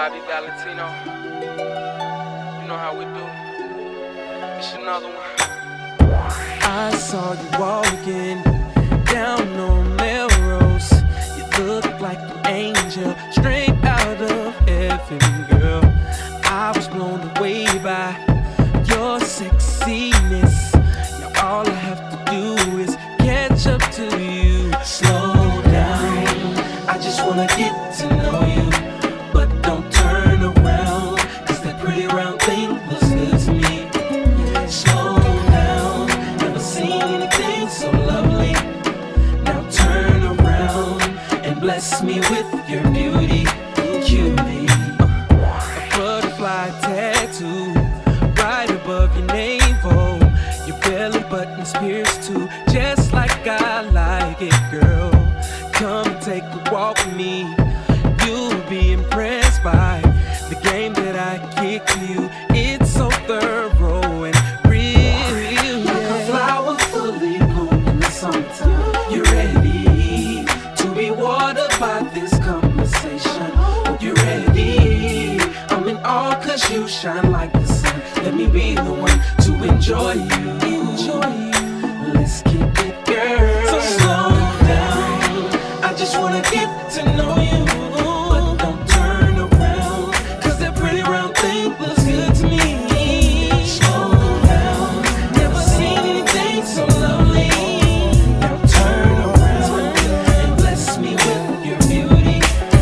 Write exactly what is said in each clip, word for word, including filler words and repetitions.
Bobby Valentino. You know how we do. It's another one. I saw you walking down on Melrose. You look like an angel, straight out of heaven, girl. I was blown away by your sexiness. Now all I have to do is catch up to you. Slow down, I just wanna get to know you. But don't turn around, cause that pretty round thing looks good to me. Slow down, never seen anything so lovely. Now turn around and bless me with your beauty, cutie. A butterfly tattoo right above your navel. Your belly button's pierced too, just like I like it, girl. Come and take a walk with me. You'll be impressed by the game that I kick to you. It's so thorough and real. Like a flower fully blown in the summertime. You're ready to be watered by this conversation. You're ready. I'm in awe cause you shine like the sun. Let me be the one to enjoy you. Enjoy you. Let's keep it, girl. So slow down. I just wanna get to know you. But don't turn around, cause that pretty round thing looks good to me. Slow down. Never seen anything so lovely. Now turn around and bless me with your beauty.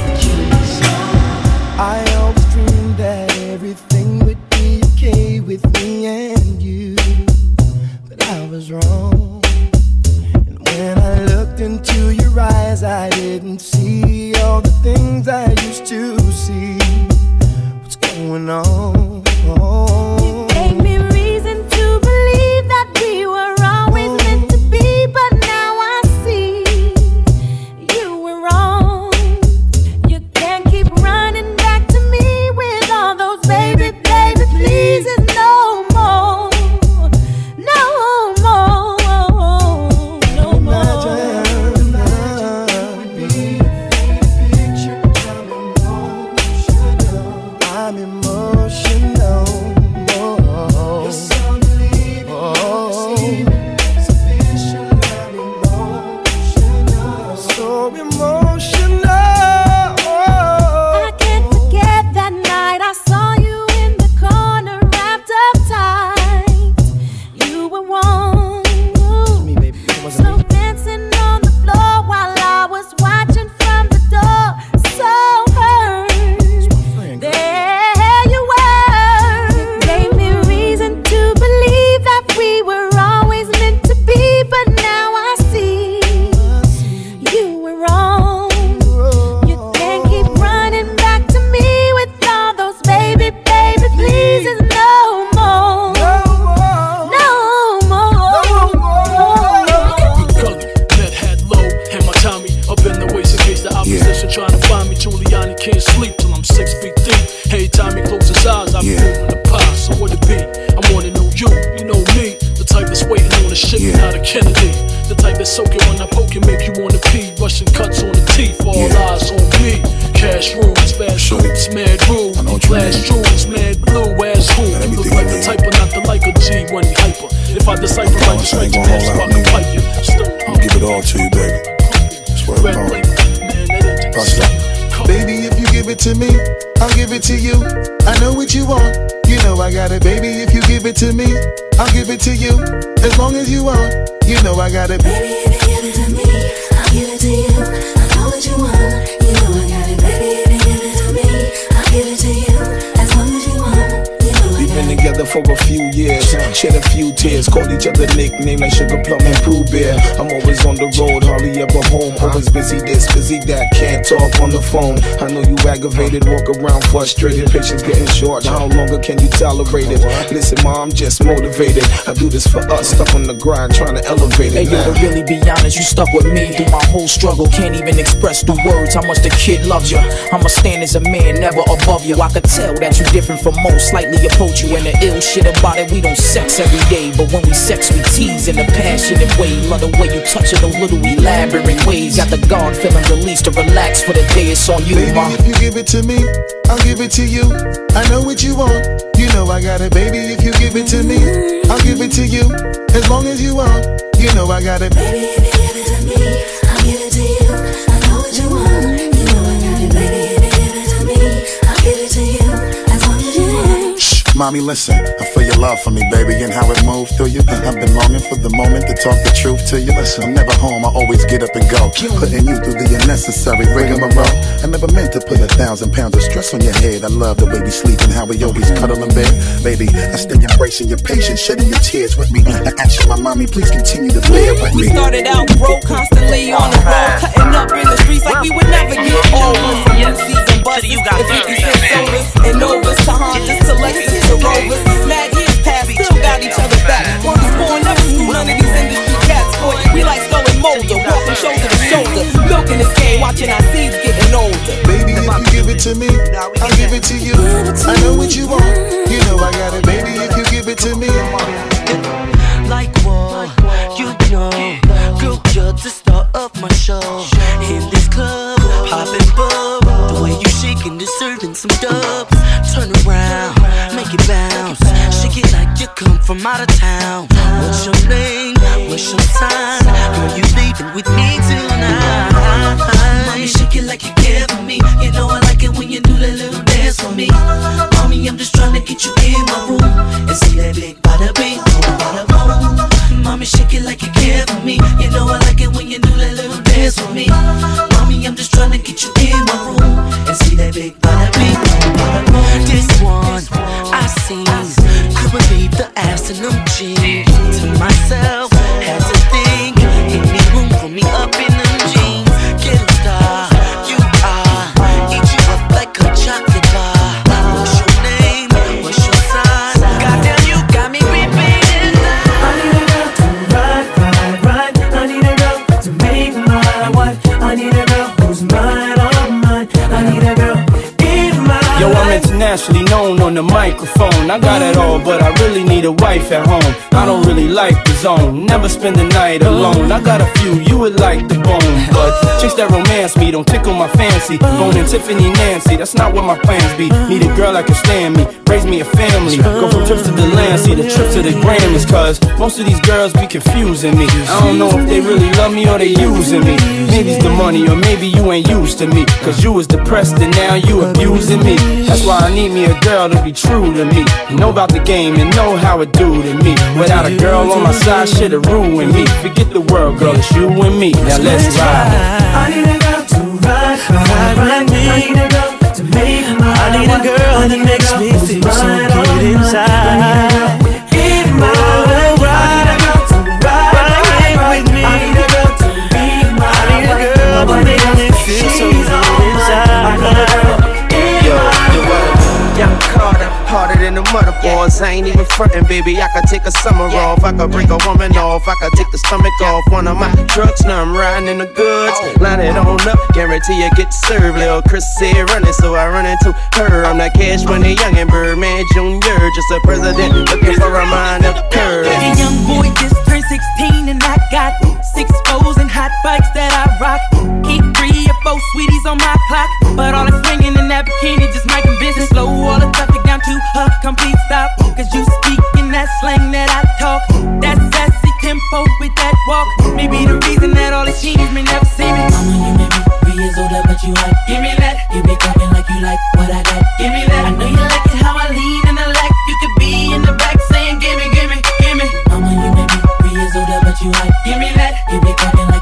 I always dreamed that everything would be okay with me and you, but I was wrong. And when I looked into your eyes, I didn't see all the things I used to see. What's going on? You gave me reason to believe that we were always meant to be, but now I see you were wrong. You can't keep running back to me with all those baby, baby pleases no more, no more, no more. I'm emotional. Oh, Yes, oh, so emotional. I can't forget that night I saw you in the corner wrapped up tight. You were warm, Me, baby, it wasn't so me. dancing on the floor while I was watching from the door. So hurt, Friend, girl. there you were. Gave me reason to believe that we were always meant to be, but now I see you were wrong. You can't keep running back to me with all those baby, baby pleases no more, no more. Gully, met had low, and my Tommy up in the waist in case the opposition trying to find me. Giuliani can't sleep till I'm six feet deep. Hey, time he close his eyes, I'm Yeah. feeling the pie. So what it be? I wanna know you, you know me. The type that's waiting on a ship Yeah. out of Kennedy. The type that's soaking when I poke and make you wanna pee. Russian cuts on the teeth, all Yeah. eyes on me. Cash rules, fast Sure. shoots, mad rules. I know what you Flash mean. jewels, mad blue, ass who? Got You look everything like you the need. type of not the like a G when he hyper. If I decipher right, Promise just I right ain't to gonna pass, hold I out, can nigga. fight you. Still, I'll give it all to you, baby. Swear Red to God. light, man, that engine Bust it. steady. Baby, if you give it to me, I'll give it to you. I know what you want, you know I got it. Baby, if you give it to me, I'll give it to you. As long as you want, you know I got it. Baby, if you give it to me, I'll give it to you. I know what you want, you know I got it. Baby, if you give it to me, I'll give it to you. As long as you want, you know I We've got been it. together for a few years, shed a few tears, called each other nicknames like Sugar Plum and Pooh Bear. I'm always on the road, hardly ever home, always busy this, busy that, can't talk on the phone. I know you aggravated, walk around frustrated, patience getting short, how longer can you tolerate it? Listen, mom, I'm just motivated, I do this for us, stuck on the grind, trying to elevate it. Hey yo, to really be honest, you stuck with me through my whole struggle. Can't even express through words how much the kid loves you. I'ma stand as a man, never above you. I could tell that you different from most, slightly approach you. And the ill shit about it, we don't sex every day. But when we sex, we tease in a passionate way. Love the way you touch it, those little elaborate ways. Got the guard feeling released to relax for the day. It's on you, baby, ma. If you give it to me, I'll give it to you. I know what you want, you know I got it, baby. If you give it to me, I'll give it to you. As long as you want, you know I got it. Baby, if you give it to me, I'll give it to you. I know what you want, you know I got it. Baby, if you give it to me, I'll give it to you. As long as you want. Shh, mommy, listen. I feel your love for me, baby, and how it moves through you. I've been longing for the moment to talk the truth to you. Listen, I'm never home, I always get up and go. Putting you through the unnecessary rigmarole. I never meant to put a thousand pounds of stress on your head. I love the way we sleep and how we always cuddle in bed. Baby, I stay embracing your patience, shedding your tears with me. I ask you, my mommy, please continue to bear with me. We started out broke, constantly on the road, cutting up in the streets like we would never get old. From M Cs and buses, if you can say sodas and Novas to Hondas to Lexus to Rovers. Mad years past, still got each other back. Word is born, never screw none of these industry cats. Boy, we like Skull and Molder, walking shoulder to shoulder, milking this game, watching our seeds getting older. Baby, if you give it to me, I'll give it to you. I know what you want, you know I got it. Baby, if you give it to me. Like what? You know, girl, you're the star of my show. In this club, popping bub. The way you shaking, deserving some dubs. Turn around, make it bounce. Shake it like you come from out of town. What's your name? What's your sign? Girl, you leaving with me tonight. Mommy, shake it like you care for me. You know I like it when you do that little dance for me. Mommy, I'm just trying to get you in my room and see that big bada bing, bada boom. Mommy, shake it like you care for me. You know I like it when you do that little dance for me. Mommy, I'm just trying to get you in my room and see that big bada bing, bada boom. This one I seen, could believe the ass in them jeans. To myself, had to think, any room for me up in them jeans. Get a star, you are, eat you up like a chocolate bar. What's your name? What's your sign? Goddamn, you got me repeating. I need a girl to ride, ride, ride. I need a girl to make my wife. I need a girl who's mine, all mine. I need a girl in my Yo, I'm internationally known on the microphone. I got it all, but I really need a wife at home. I don't really like the zone, never spend the night alone. I got a few, you would like the bone, but chicks that romance me don't tickle my fancy. Bone and Tiffany Nancy, that's not what my plans be. Need a girl that can stand me, raise me a family. Go from trips to the land, see the trip to the Grammys. Cause most of these girls be confusing me. I don't know if they really love me or they using me. Maybe it's the money or maybe you ain't used to me. Cause you was depressed and now you abusing me. That's why I need me a girl to be true to me. Know about the game and know how it do to me. Without a girl on my side, shit'll ruin me. Forget the world, girl, it's you and me. Now let's ride. I need a girl to ride, ride, ride me. I need a girl to make my I need a girl that makes me feel so good inside. In my life, I need a girl to ride with me. I need a girl to be my I need a girl that makes me feel so good inside. Yo, the world. Young Carter, harder than the mother boys. I ain't even frontin', baby. I could take a summer off. I could break a woman off. I could take the stomach off one of my trucks. Now I'm riding in the goods. Line it on up, guarantee you get served. Lil' Chris said running, so I run into her. I'm that cash money young and Birdman Junior Just a president looking for a mind of curve. A young boy just turned sixteen and I got six foes and hot bikes that I rock. Keep three or four sweeties on my clock, but all that's swinging in that bikini just might convince me. Slow all the traffic down to a complete stop. Cause you speak in that slang that I talk. That sassy tempo with that walk. Maybe the reason that all these teens may never see me. Mama, you may be three years older, but you hot. Give me that. You be talking like you like what I got. Give me that. I know you like it how I lean in the lack. You could be in the back saying gimme, gimme, gimme. Mama, you may be three years older, but you hot. Give me that. You be talking like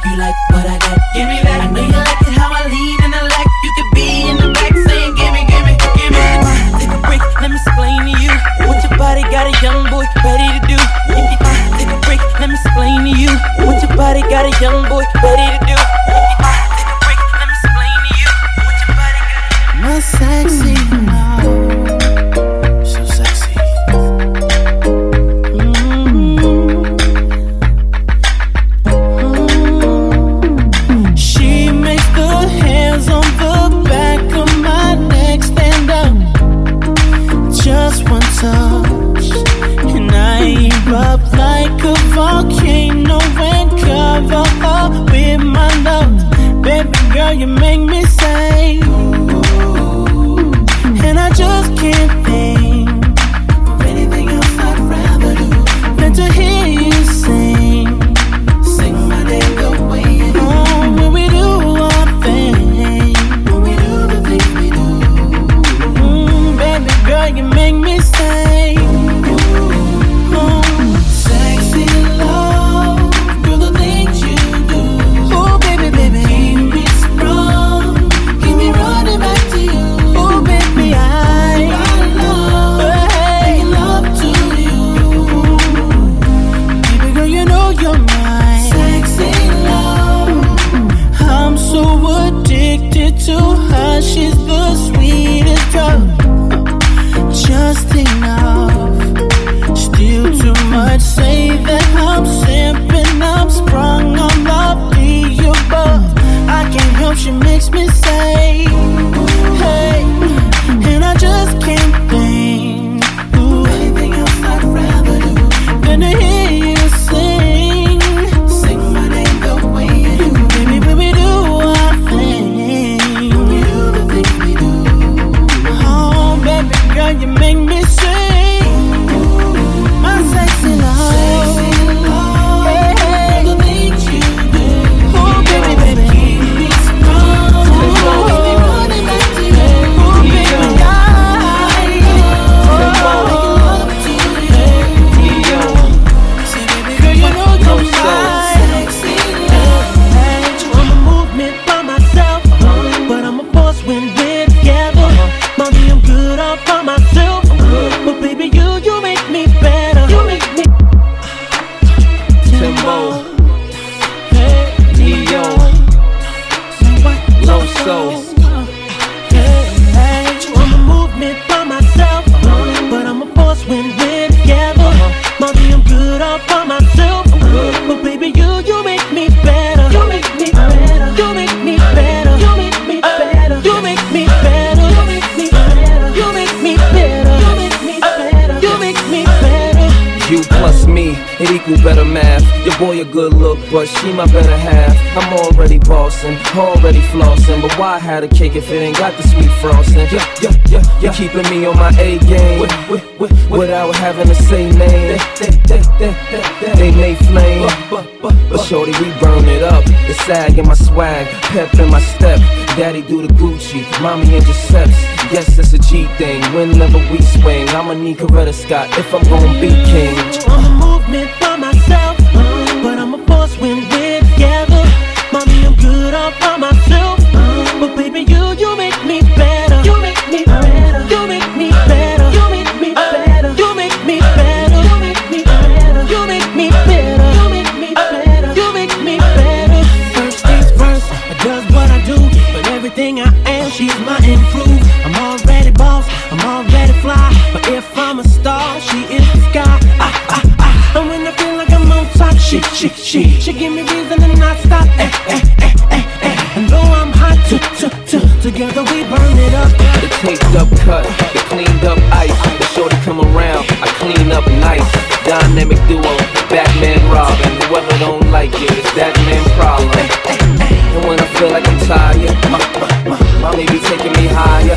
your boy a good look, but she my better half. I'm already bossing, already flossing, but why have a cake if it ain't got the sweet frosting? Yeah, yeah, yeah, you're keeping me on my A game with, with, with, without having to say name. They, they, they, they, they may flame, but shorty, we burn it up. The sag in my swag, pep in my step. Daddy do the Gucci, mommy and Giuseppe's. Yes, it's a G thing, whenever we swing. I'ma need Coretta Scott if I'm gonna be king. I'm a movement by myself, but I'm a force when we're together. Mommy, I'm good all by myself, but baby, you, you make me better. You make me better. You make me better. You make me better. You make me better. You make me better. You make me better. You make me better. You make me better. First things first, I does what I do, but everything I am, she's my improve. I'm already boss, I'm already fly, but if I'm a star, she is the sky. Ah, ah, ah. And when I feel like I'm on top, she, she, she, she give me reason to not stop. Eh, eh, eh, eh, eh. And though I'm hot, t, t, t, together we burn it up. The taped up cut, the cleaned up ice. The shorty come around, I clean up nice. Dynamic duo, Batman Robin. Whoever don't like it, it's that man problem. And when I feel like I'm tired, my, my, my, mommy be taking me higher.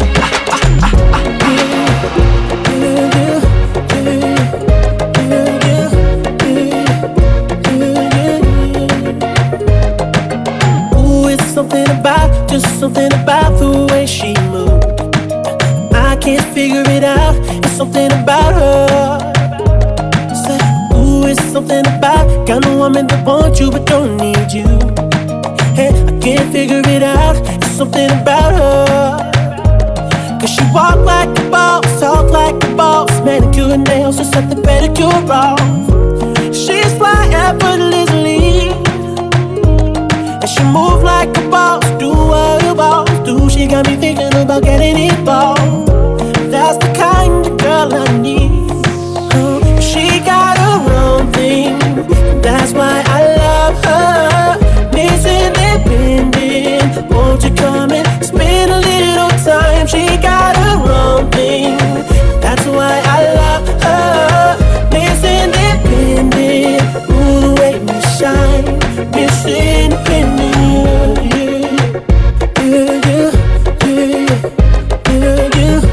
Ooh, it's something about, just something about the way she moves. I can't figure it out, it's something about her. Say, ooh, it's something about kind of woman that wants you but don't need you. Hey, I can't figure it out, it's something about her. Cause she walk like a boss, talk like a boss, manicure and nails, just set the pedicure off. She's fly effortlessly, and she move like a boss, do what a boss do. She got me thinking about getting involved. That's the kind of girl I need. uh, She got her own thing, that's why I love her. Miss Independent, won't you come and spend a little time? She got her own thing, that's why I love her. Miss Independent, ooh, the way you shine. Miss Independent, yeah, yeah, yeah, yeah, yeah,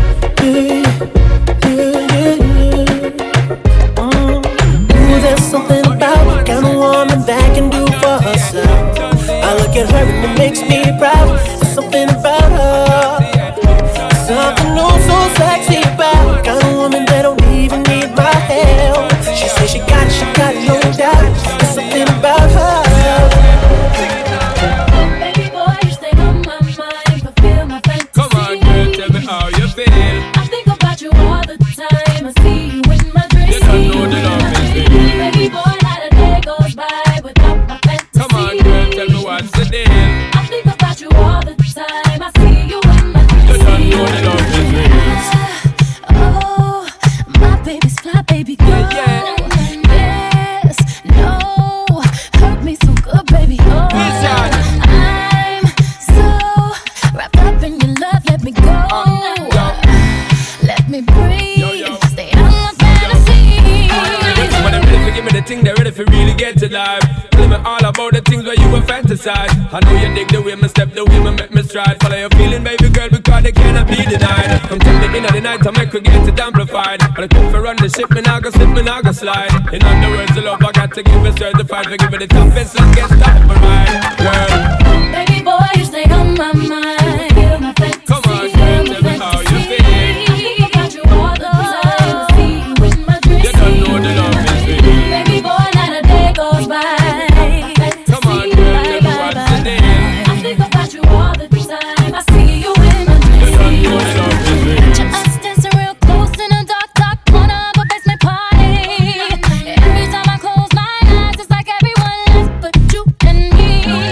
yeah, yeah, yeah. Mm. Ooh, there's something about the kind of woman that can do for herself. I look at her and it makes me proud. There's something about her, something oh so sexy about the kind of woman that don't even need my help. She says she got it, she got it, no doubt. There's something about her. Baby boy, you stay on my mind, fulfill my fantasy. Come on, girl, tell me how you feel. I think about you all the time. I see you in my dreams. You don't know the love is real. Baby boy, not a day goes by without my fantasy. Come on, girl, tell me what's the deal. I think about you all the time. I see you in my dreams. You don't know the love is real. Oh, my baby's fly, baby girl. Yeah, yeah. Yes, no, hurt me so good, baby. Oh, Listen. I'm so wrapped up in your love. Let me go. Let me breathe. Yo, yo. Stay on my fantasy. When they're ready to give me the thing, they're ready for really get to life. Tell me all about the things where you were fantasize. I know you dig the way me step, the way me make me stride. Follow your feeling, baby girl, because they cannot be denied. Come tell me in the night, I make her get it amplified. But I come for run the ship, me nah go slip, me nah go slide. In other words, the love I got to give it certified. For giving the toughest, let's get started for mine, girl. Baby boy, you stay on my mind. Feel my fantasy. Come on, girl, tell me how you feel. I think about you all the time. I see you in my dreams. You don't know the love is real. Baby boy, not a day goes by. Come on, girl, tell me what's the deal. I think about you all the time. I see you in my You don't dreams. know the love is real. Picture us dancing real close in a dark, dark corner of a basement party. Every time I close my eyes, it's like everyone left but you and me.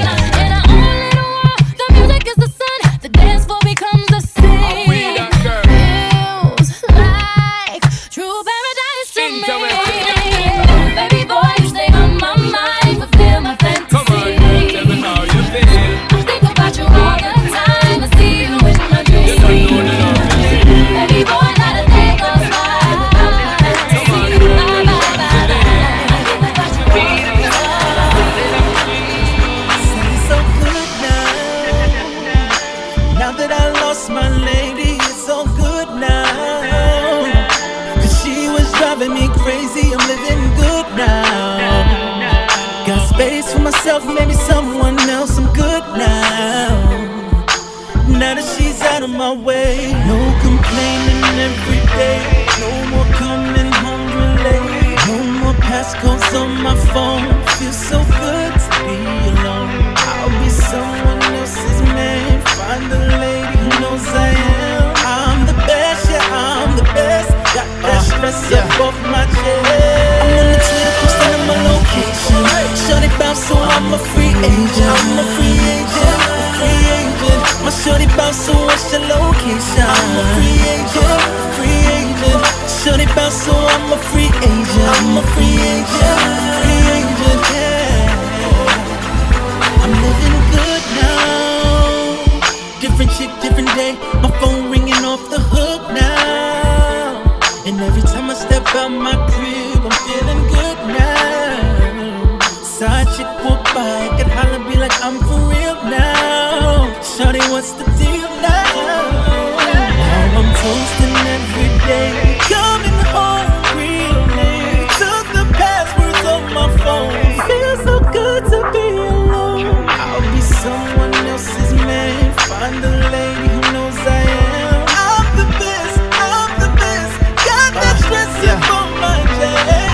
myself, maybe someone else. I'm good now. Now that she's out of my way, no complaining every day. No more coming home late. No more passcodes on my phone. Feels so good to be alone. I'll be someone else's man. Find a lady who knows I am. I'm the best, yeah, I'm the best. Got that uh, stress yeah. up off my chest. I'm on the Twitter posting on my location. Shorty bounce, so I'm a free agent. I'm a free agent, free agent. My shorty bounce, so what's your location? I'm a free agent, free agent. Shorty bounce, so I'm a free agent. I'm a free agent, free agent. Yeah, I'm living good now. Different chick, different day. My phone ringing off the hook now. And every time I step out my crib, I'm feeling good now. Side chick walk by, could holler, be like I'm for real now. Shawty, what's the deal now? Now I'm toasting every day, coming home real late. Took the passwords on my phone. Feels so good to be alone. I'll be someone else's man. Find a lady who knows I am. I'm the best, I'm the best. Got that stress uh, yeah. on my chest.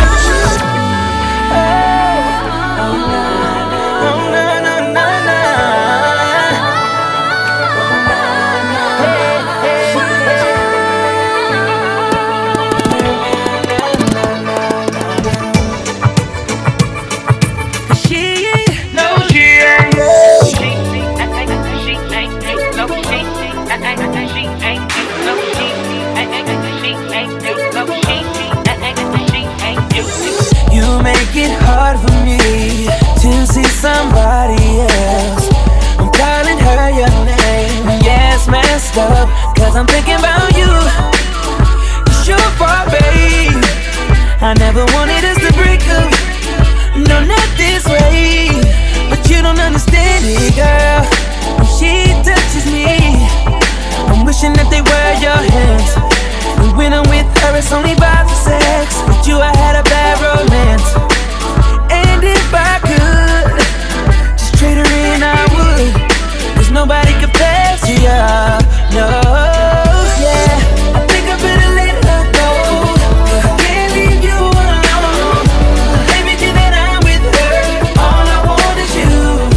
Hard for me to see somebody else. I'm calling her your name. Yeah, it's messed up, cause I'm thinking about you. It's your fault, babe. I never wanted us to break up. No, not this way. But you don't understand it, girl. When she touches me, I'm wishing that they were your hands. And when I'm with her, it's only by the sex. With you, I had a bad romance. And if I could just trade her in, I would. Cause nobody compares to you. No, yeah. I think I better let her go. I can't leave you alone. Everything that I'm with her, all I want is you.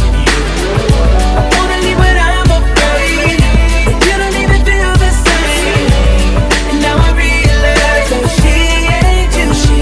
I wanna leave, but I'm afraid that you don't even feel the same. And now I realize that she ain't you. She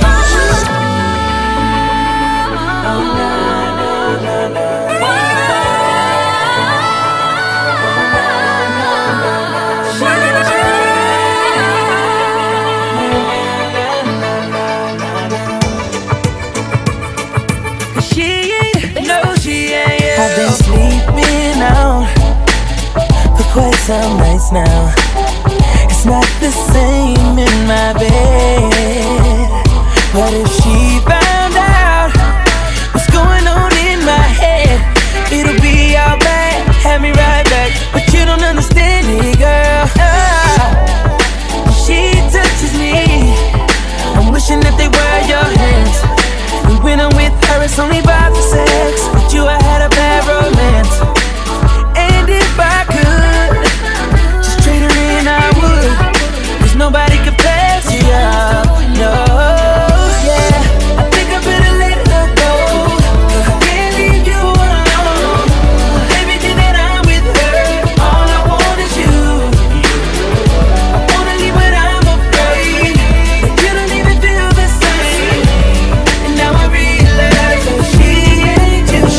I've been sleeping out for quite some nights now. It's not the same in my bed. What if she found out what's going on in my head? It'll be all bad, have me right back. But you don't understand it, girl. Oh, she touches me, I'm wishing that they were your hands. And when I'm with her, it's only by the sex. With you, I had a bad romance. And if I could just trade her in, I would. Cause nobody compares to you. No, yeah. I think I better let her go. I can't leave you alone. Everything that I'm with her, all I want is you. I wanna leave, but I'm afraid that you don't even feel the same. And now I realize that she ain't you.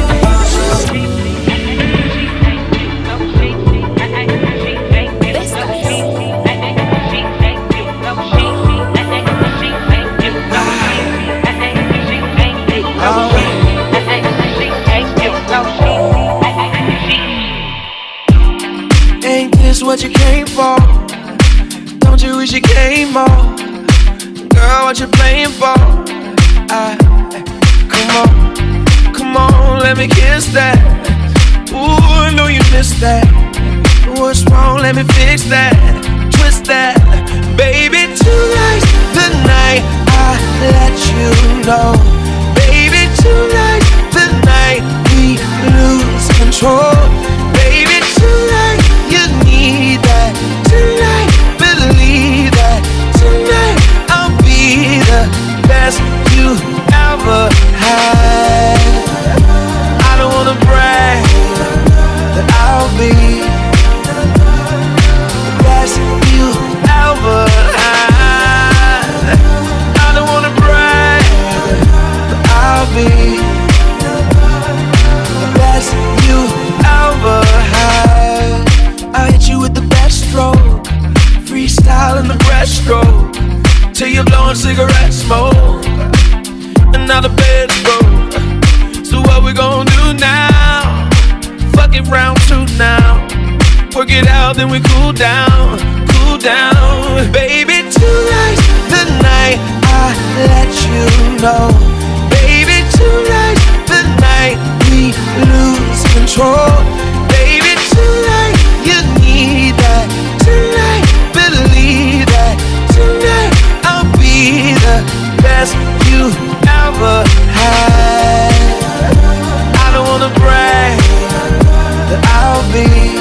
Ain't this what you came for? Don't you wish you came more? Girl, what you playing for? I, come on, come on, let me kiss that. Ooh, I know you missed that. What's wrong? Let me fix that. Twist that, baby. Tonight's the night I let you know. Baby, tonight's the night control. Baby, tonight you need that. Tonight, believe that. Tonight I'll be the best you ever had. I don't wanna brag, but I'll be the best you ever had. I don't wanna brag, but I'll be the best you ever had. I hit you with the best stroke, freestyle in the breaststroke, till you're blowing cigarette smoke, and now the bed's broke. So what we gon' do now? Fuck it, round two now. Work it out, then we cool down, cool down. Baby, tonight's the night I let you know. Baby, tonight's the night we lose control. Baby, tonight you need that. Tonight, believe that. Tonight I'll be the best you ever had. I don't wanna brag, but I'll be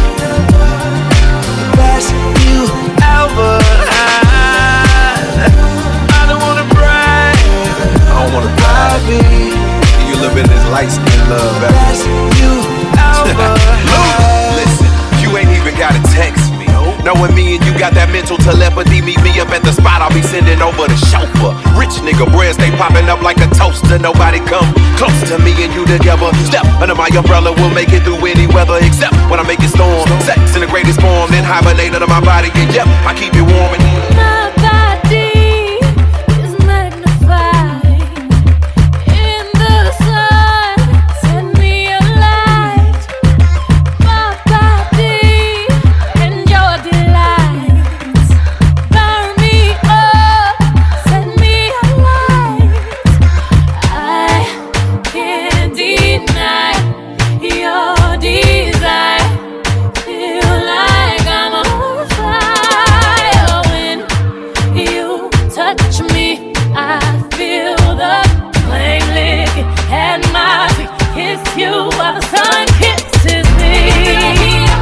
the best you ever had. I don't wanna brag, I don't wanna brag. I'll be you live in this light skin love, the baby. best you ever had. Listen, you ain't even gotta text me. Knowing me and you got that mental telepathy, meet me up at the spot, I'll be sending over the chauffeur. Rich nigga bread stay popping up like a toaster. Nobody come close to me and you together. Step under my umbrella, we'll make it through any weather, except when I make it storm. Sex in the greatest form, then hibernate under my body. And yep, I keep it warm and My body is magnified in the sun. Set me alight. My body and your delights burn me up, set me alight. I can't deny your desire. Feel like I'm on fire when you touch me. I feel the flame lick at my feet. Kiss you while the sun kisses me.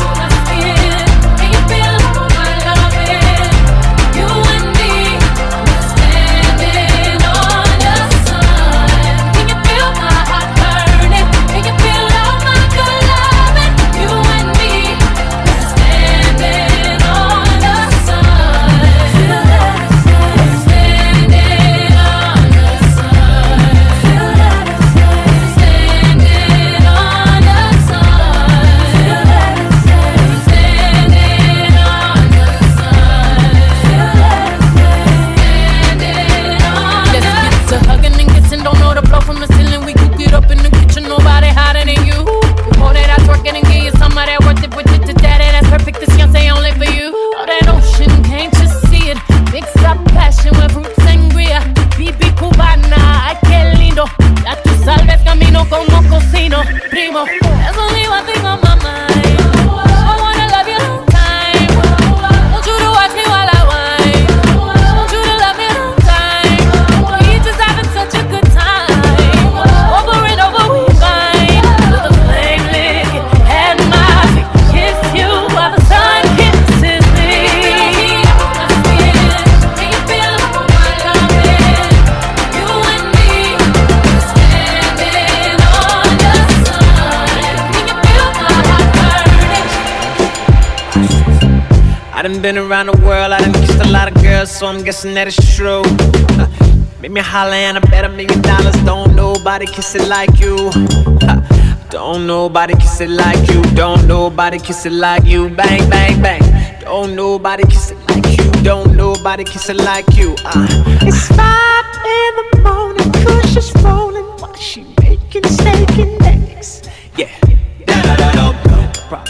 Been around the world, I done kissed a lot of girls, so I'm guessing that it's true. Uh, make me holler and I bet a million dollars. Don't nobody kiss it like you. Uh, don't nobody kiss it like you. Don't nobody kiss it like you. Bang, bang, bang. Don't nobody kiss it like you. Don't nobody kiss it like you. Uh, it's five in the morning, Kush is rolling while she making steak and eggs. Yeah. Da, da, da, da, no problem.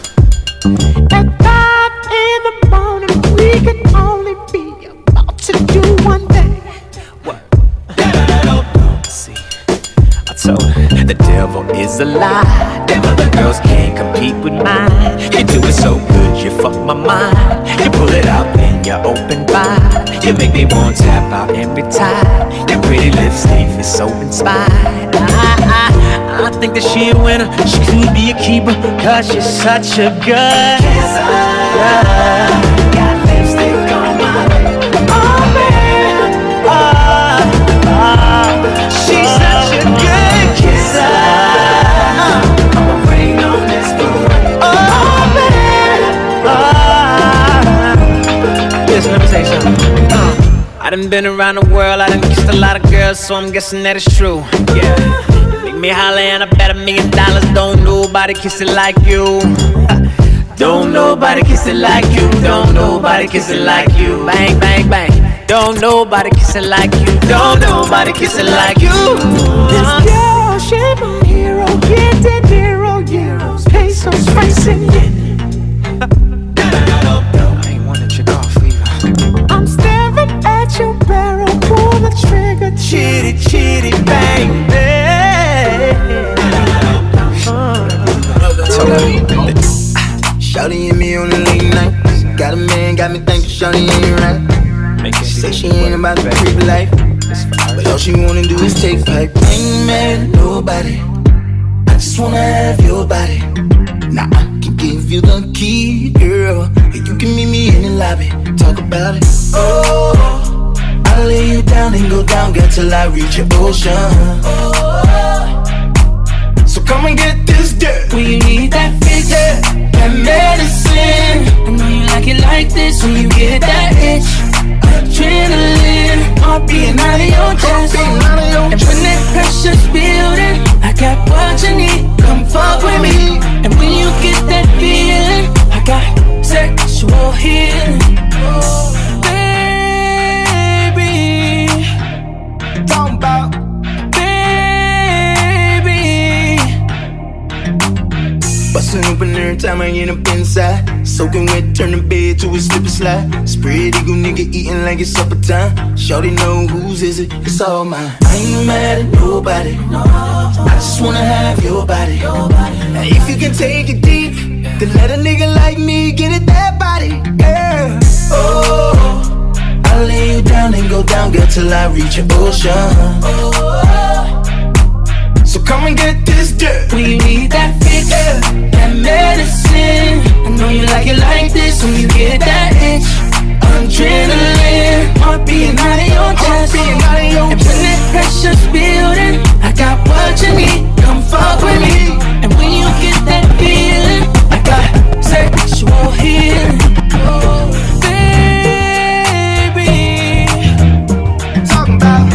At five in the morning, we can only be about to do one thing. What? See, I told her the devil is a lie. Them other girls can't compete with mine. You do it so good, you fuck my mind. You pull it out, then you open wide. You make me want to tap out every time. Your pretty lips leave me so inspired. I, I, I think that she a winner, she could be a keeper, cause she's such a good kisser. Got lipstick on my oh man, oh, oh. She's such a good kisser. I'ma bring on this food. Oh man, oh. Listen, let me say something. uh, I done been around the world, I done kissed a lot of girls, so I'm guessing that it's true. Yeah. Me holla and I bet a million dollars. Don't nobody kiss it like you. Don't nobody kiss it like you. Don't nobody kiss it like you. Bang, bang, bang. Don't nobody kiss it like you. Don't nobody kiss it like you. This girl, she my hero. Get that zero euros, pesos, racing yen. I ain't wanna check off either. I'm staring at your barrel, pull the trigger, chitty, chitty, bang, bang. Shawty and me on the late night. Got a man, got me thinking Shawty ain't right. She say she ain't about the creep life, but all she wanna do is take pipe. I ain't mad at nobody, I just wanna have your body. Now I can give you the key, girl, and you can meet me in the lobby. Talk about it. Oh, I'll lay you down and go down, girl, till I reach your ocean. Oh, so come and get this dirt. Will you need that fix? That medicine. I know you like it like this when you get that itch. Adrenaline, heart beating out of your chest. And when that pressure's building, I got what you need. Come fuck with me. And when you get that feeling, I got sexual healing. Baby, talk about. Bustin' open every time I get up inside. Soaking wet, turn the bed to a slip and slide. Spread eagle nigga eating like it's supper time. Shawty know whose is it, it's all mine. I ain't mad at nobody, I just wanna have your body. Now if you can take it deep, then let a nigga like me get it that body, girl. Oh, I'll lay you down and go down, girl, till I reach your ocean. Oh, so come and get this dirt. Will you need that fix? Yeah. That medicine. I know you like it like this when you get that itch. Adrenaline, heart beating out of your chest. And when that pressure's building, I got what you need. Come fuck with me. And when you get that feeling, I got sexual healing. Oh, baby, talking about.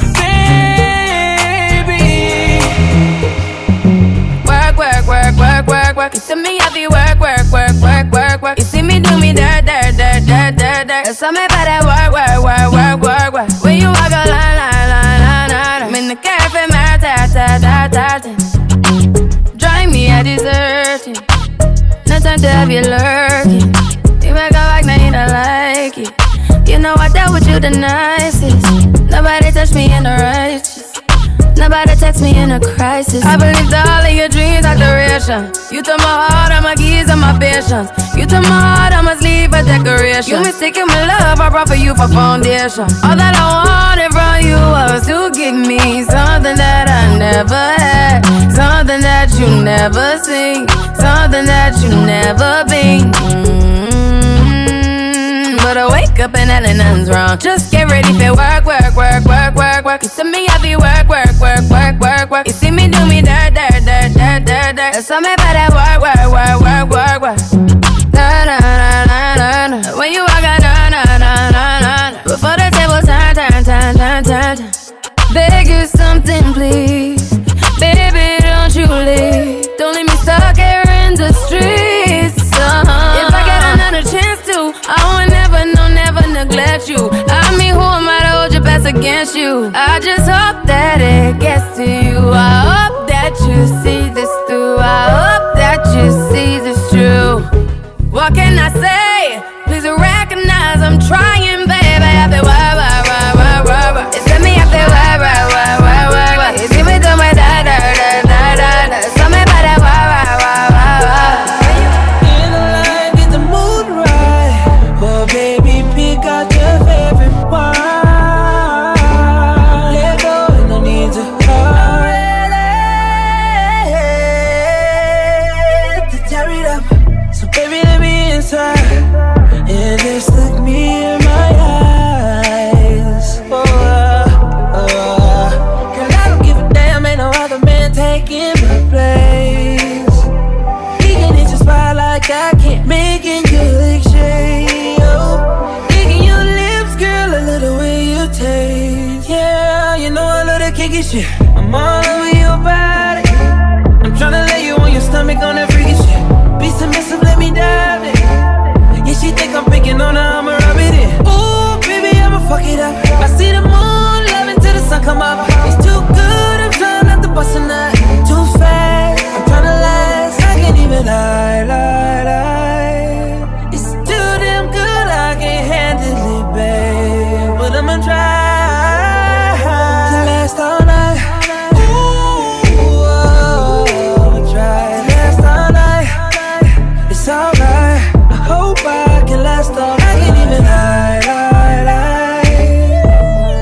You see me have you work, work, work, work, work, work. You see me do me dirt, dirt, dirt, dirt, dirt, dirt. There's something about that work, work, work, work, work, work. When you walk a line, line, line, line, line. I'm in the cafe, my ta, ta, ta, ta, ta. Drive me a deserting. No time to have you lurking. You make a like, now you don't like it. You know I dealt with you the nicest. Nobody touched me in the righteous. Nobody text me in a crisis. I believed all of your dreams are duration. You took my heart, all my keys, and my patience. You took my heart, I must leave a decoration. You mistaken my love, I brought for you for foundation. All that I wanted from you was to give me something that I never had, something that you never seen, something that you never been. Mm-hmm. But I wake up and nothing's wrong. Just get ready for work, work, work, work, work, work. You see me heavy work, work, work, work, work, work. You see me do me dirt, dirt, dirt, dirt, dirt, dirt. There's something about that work, work, work, work, work, work. Na na na na na na. When you walk out, na na na na na. Before the table turn, turn, turn, turn, turn, turn. Beg you something, please, baby, don't you leave. Don't leave me stuck here in the streets. Uh-huh. If I get another chance to, I would never, no, never neglect you. I mean, who am I to hold your best against you? I just hope that it gets to you. I hope that you see this through. I hope that you see this true. What can I say? Please recognize I'm trying, baby. I feel wah, wah, wah, wah, wah, wah. It's me, I feel wah, wah, wah, wah, wah, wah. You see me do my da, da, da, da, da, da. Something about that wah, wah, wah, wah, wah. In the line, get the mood right. Well, baby, pick out your favorite one. Let go and no need to hurry. closer and just look me in my eyes. Oh, uh, uh. Girl, I don't give a damn, ain't no other man taking my place. He can hit your spot like I can't, making you lick shade. Oh, licking your lips, girl, a little way you taste. Yeah, you know I love that kinky shit. I'm all over your body. I'm tryna lay you on your stomach on that freaky shit. Be submissive, let me dive in. Yeah, she think I'm picking on her, I'ma rub it in. Ooh, baby, I'ma fuck it up. I see the moon, loving till the sun come up. It's too good, I'm trying not to bust a nut. Too fast, I'm tryna last. I can't even lie, lie, lie. It's too damn good, I can't handle it, babe. But I'ma try to last all night. Alright, I hope I can last all night. I can't even lie, lie, lie.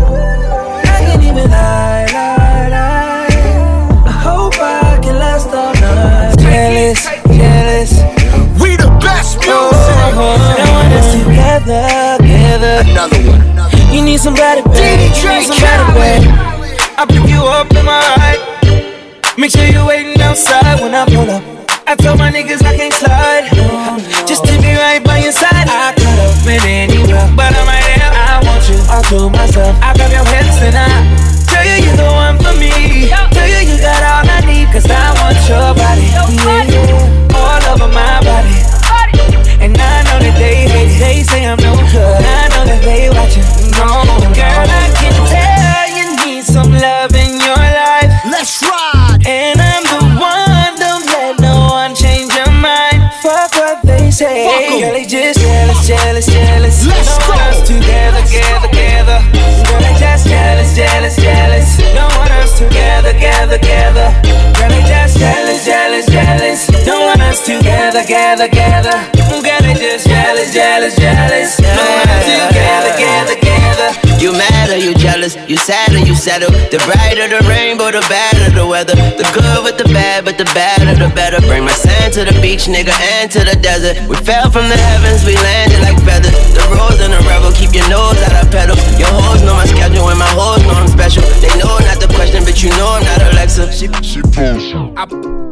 I can't even lie, lie, lie. I hope I can last all night. Jealous, jealous. We the best music. Oh, I want us together, together. Another one. You need somebody, baby. You need somebody, baby. I pick you up in my ride. Make sure you're waiting outside when I pull up. I told my niggas I can't slide. Just to be right by your side. I could have been anywhere, but I'm right here. I want you all to myself. I grab your hips and I tell you you're the one for me. Tell you you got all I need, cause I want your body. Yeah, all over my body. And I know that they hate it. They say I'm no good. I know that they watching. No, girl, I can tell you need some love in your life. Let's ride. And I'm the one. Don't let no one change your mind. Fuck what they say. Girl, they just jealous, jealous, jealous. Let's no go. One else together, together, together. Girl, they just jealous, jealous, jealous. No one else together, together, together. Girl, they just jealous, jealous, jealous. No one else together, together, together. Girl, they just jealous, jealous, jealous. No one else together, together, together. You mad or you jealous, you sad or you settle. The brighter the rainbow, the badder the weather. The good with the bad, but the badder the better. Bring my sand to the beach, nigga, and to the desert. We fell from the heavens, we landed like feathers. The rose and the rebel, keep your nose out of pedal. Your hoes know my schedule and my hoes know I'm special. They know not the question, but you know I'm not Alexa. She, she I,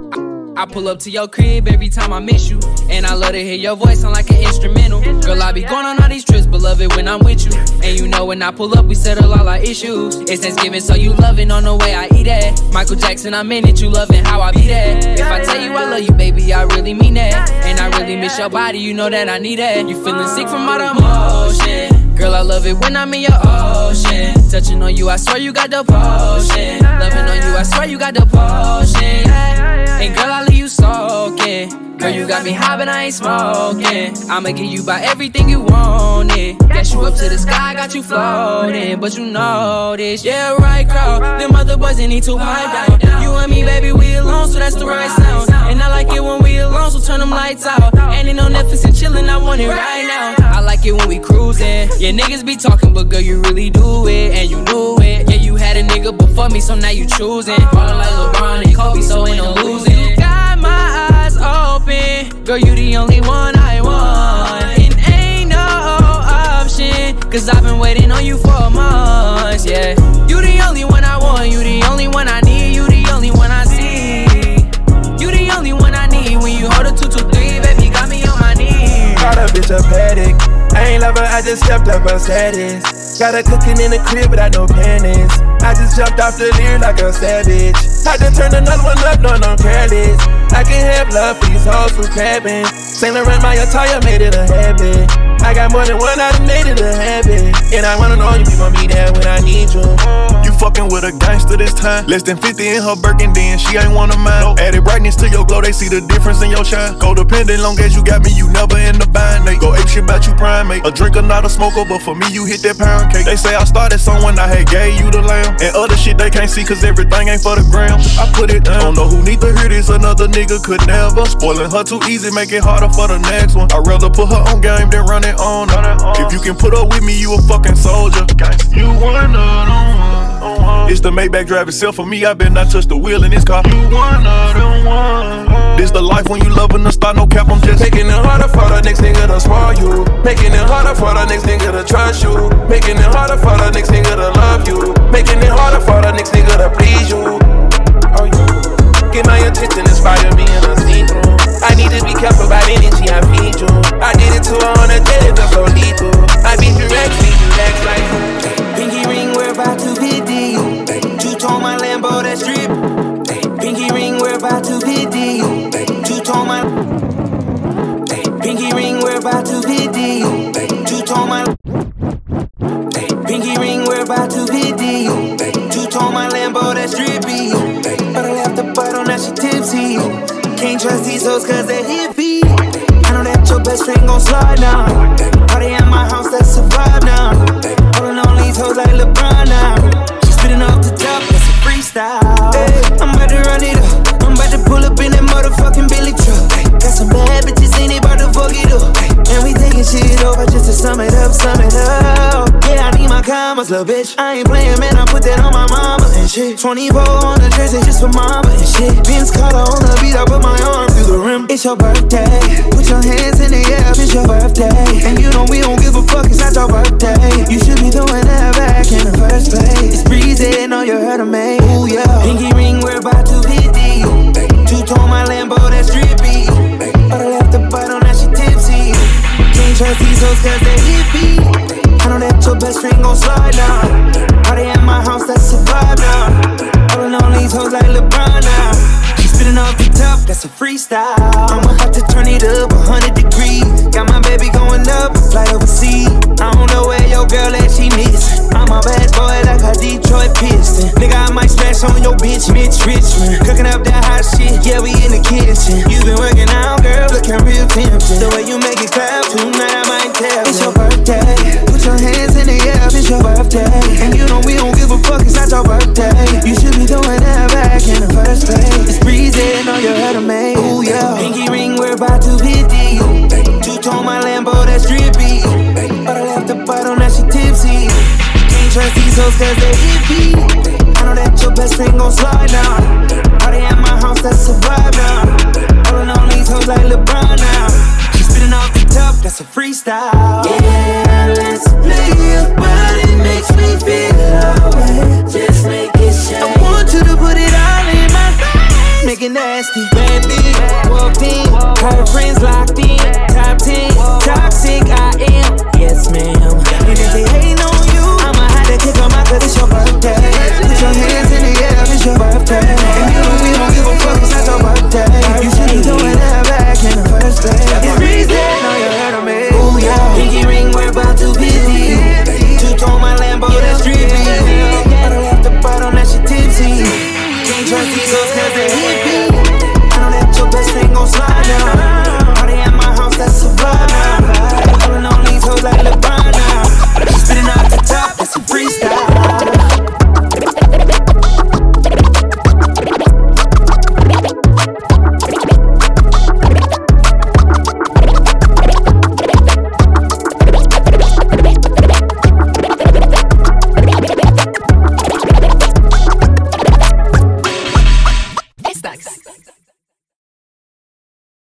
I pull up to your crib every time I miss you. And I love to hear your voice sound like an instrumental. Girl, I be going on all these trips, but love it when I'm with you. And you know when I pull up, we settle all our issues. It's Thanksgiving, so you loving on the way I eat it. Michael Jackson, I'm in it, you loving how I be there. If I tell you I love you, baby, I really mean that. And I really miss your body, you know that I need that. You feeling sick from all the emotion. Girl, I love it when I'm in your ocean. Touching on you, I swear you got the potion. Loving on you, I swear you got the potion. And girl, I leave you soaking. Girl, you got me high, but I ain't smoking. I'ma give you by everything you wanted. Got you up to the sky, got you floating. But you know this, yeah, right, girl. Them other boys, they need to pipe down. You and me, baby, we alone, so that's the right sound. And I like it when we alone, so turn them lights out. And ain't no Netflix and chillin', I want it right now. I like it when we cruising. Yeah, niggas be talking, but girl, you really do it. And you knew it. Yeah, you had a nigga before me, so now you choosing. Ballin' like LeBron and Kobe, so ain't no losing. You got my eyes open. Girl, you the only one I want. And ain't no option, cause I've been waiting on you for months, yeah. You the only one I want, you the only one I need, you the only one I see. You the only one I need, when you hold a two two three, baby, got me on my knees. Call that bitch a paddock. I ain't love her, I just stepped up her status. Got her cooking in the crib without no panties. I just jumped off the leer like a savage. Had to turn another one up, no, no careless. I can have love for these hoes who crabbing. Saint Laurent, my attire made it a habit. I got more than one, I done made it a habit. And I wanna know you be gon' be there when I need you. You fucking with a gangster this time. Less than fifty in her Birkin, then she ain't one of mine. Nope. Added brightness to your glow, they see the difference in your shine. Codependent, long as you got me, you never in the bind. They go ape shit about you primate. A drinker, not a smoker, but for me, you hit that pound cake. They say I started someone, I had gave you the lamb. And other shit they can't see, cause everything ain't for the gram. I put it down. Don't know who need to hear this, another nigga could never. Spoiling her too easy, make it harder for the next one. I'd rather put her on game than run it on. If you can put up with me, you a fucking soldier. You one of them one. It's the Maybach drive itself for me. I bet not touch the wheel in this car. You one of them one. This the life when you loving the start, no cap, I'm just making it harder for the next nigga to spoil you. Making it harder for the next nigga to trust you. Making it harder for the next nigga to love you. Making it harder for the next nigga to please you. Oh, you get my attention, inspire me in a see-through. I need to be careful about energy I feed you. I did it to her on a day, it felt so lethal. I be direct, be direct like pinky ring, we're about to hit you. Two-tone my Lambo, that strip. Pinky ring, we're about to hit you. Two-tone my pinky ring, we're about to hit you. Two-tone my pinky ring, we're about to hit you. Two-tone my Lambo, that strippy. But I left the bottle, now she tipsy. Can't trust these hoes cause they hippie. I know that your best friend gon' slide now. Party at my house, that's a vibe now. Holding on these hoes like LeBron now. She spitting off the top, that's a freestyle. Hey, I'm about to run it up. I'm about to pull up in that motherfucking Billy truck. Got some bad bitches, ain't about to fuck it up. And we taking shit over just to sum it up, sum it up. Yeah, I need my commas, little bitch. I ain't playing, man, I put that on my mama and shit. twenty-four on the jersey just for mama and shit. Vince Carter on the beat, I put my arm through the rim. It's your birthday, put your hands in the air, it's your birthday. And you know we don't give a fuck, it's not your birthday. You should be doing that back in the first place. It's breezy, know you heard of me. Ooh, yeah. Pinky ring, we're about to hit you. Two-tone my Lambo, that's drippy. But I left the bottle, now she tipsy. Can't trust these hoes cause they hippie. I know that your best friend gon' slide now. Party at my house, that's a vibe now. Holding on these hoes like LeBron now. She spitting off the top, that's a freestyle. I'm about to turn it up one hundred degrees. Got my baby going up, flight overseas. I don't know where your girl at, she missing. I'm a bad boy like a Detroit Piston. Nigga, I might smash on your bitch, Mitch Richmond. Cooking up that hot shit, yeah, we in the kitchen. You been working out, girl, looking real tempting. The way you make it clap, tonight I might tell. It's your birthday, put your hands in the air, it's your birthday. And you know we don't give a fuck, it's not your birthday. You should be doing that back in the first place. It's breezy, know you heard of me. Ooh, yeah. Pinky ring, we're about to hit you. Two-tone my Lambo, that's drippy. But I left the bottle, now she tipsy. Can't trust these hoes cause they hippie. I know that your best friend gon' slide now. Party at my house, that's a vibe now. Holding on these hoes like LeBron now. She spitting off the top, that's a freestyle. Yeah, let's play your body, makes me feel alright. Just make it shine. I want you to put it all in my face. Make it nasty, bad bitch, walked in. Her friends locked in, top ten, toxic I am. Yes, ma'am. And if they hating on you, I'ma have to kick 'em out 'cause it's your birthday. Put your hands in the air, it's your birthday. And you know we don't give a fuck, it's not your birthday.